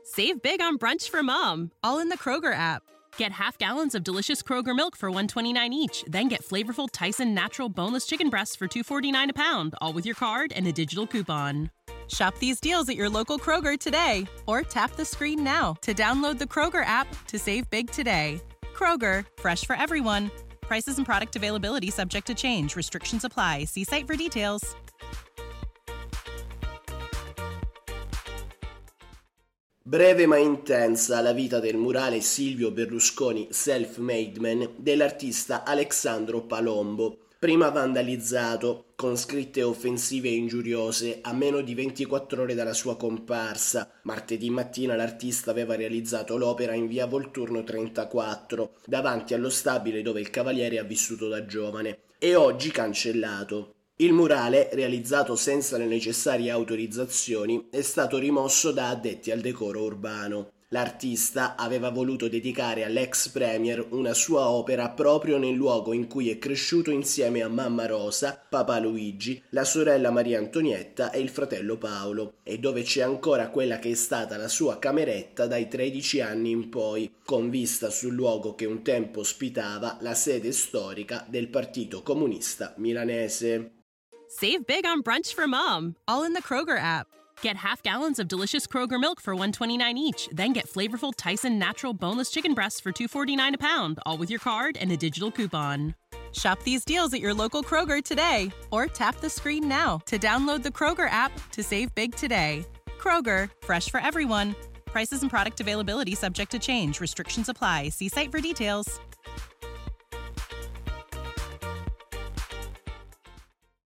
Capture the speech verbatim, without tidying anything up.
Save big on brunch for mom, all in the Kroger app. Get half gallons of delicious Kroger milk for one dollar and twenty-nine cents each. Then get flavorful Tyson natural boneless chicken breasts for two dollars and forty-nine cents a pound, all with your card and a digital coupon. Shop these deals at your local Kroger today, or tap the screen now to download the Kroger app to save big today. Kroger, fresh for everyone. Prices and product availability subject to change. Restrictions apply. See site for details. Breve ma intensa la vita del murale Silvio Berlusconi Self-Made Man dell'artista Alexandro Palombo, prima vandalizzato con scritte offensive e ingiuriose a meno di ventiquattro ore dalla sua comparsa. Martedì mattina l'artista aveva realizzato l'opera in via Volturno trentaquattro, davanti allo stabile dove il cavaliere ha vissuto da giovane, e oggi cancellato. Il murale, realizzato senza le necessarie autorizzazioni, è stato rimosso da addetti al decoro urbano. L'artista aveva voluto dedicare all'ex premier una sua opera proprio nel luogo in cui è cresciuto insieme a mamma Rosa, papà Luigi, la sorella Maria Antonietta e il fratello Paolo, e dove c'è ancora quella che è stata la sua cameretta dai tredici anni in poi, con vista sul luogo che un tempo ospitava la sede storica del Partito Comunista Milanese. Save big on brunch for mom, all in the Kroger app. Get half gallons of delicious Kroger milk for one dollar and twenty-nine cents each. Then get flavorful Tyson natural boneless chicken breasts for two dollars and forty-nine cents a pound, all with your card and a digital coupon. Shop these deals at your local Kroger today, or tap the screen now to download the Kroger app to save big today. Kroger, fresh for everyone. Prices and product availability subject to change. Restrictions apply. See site for details.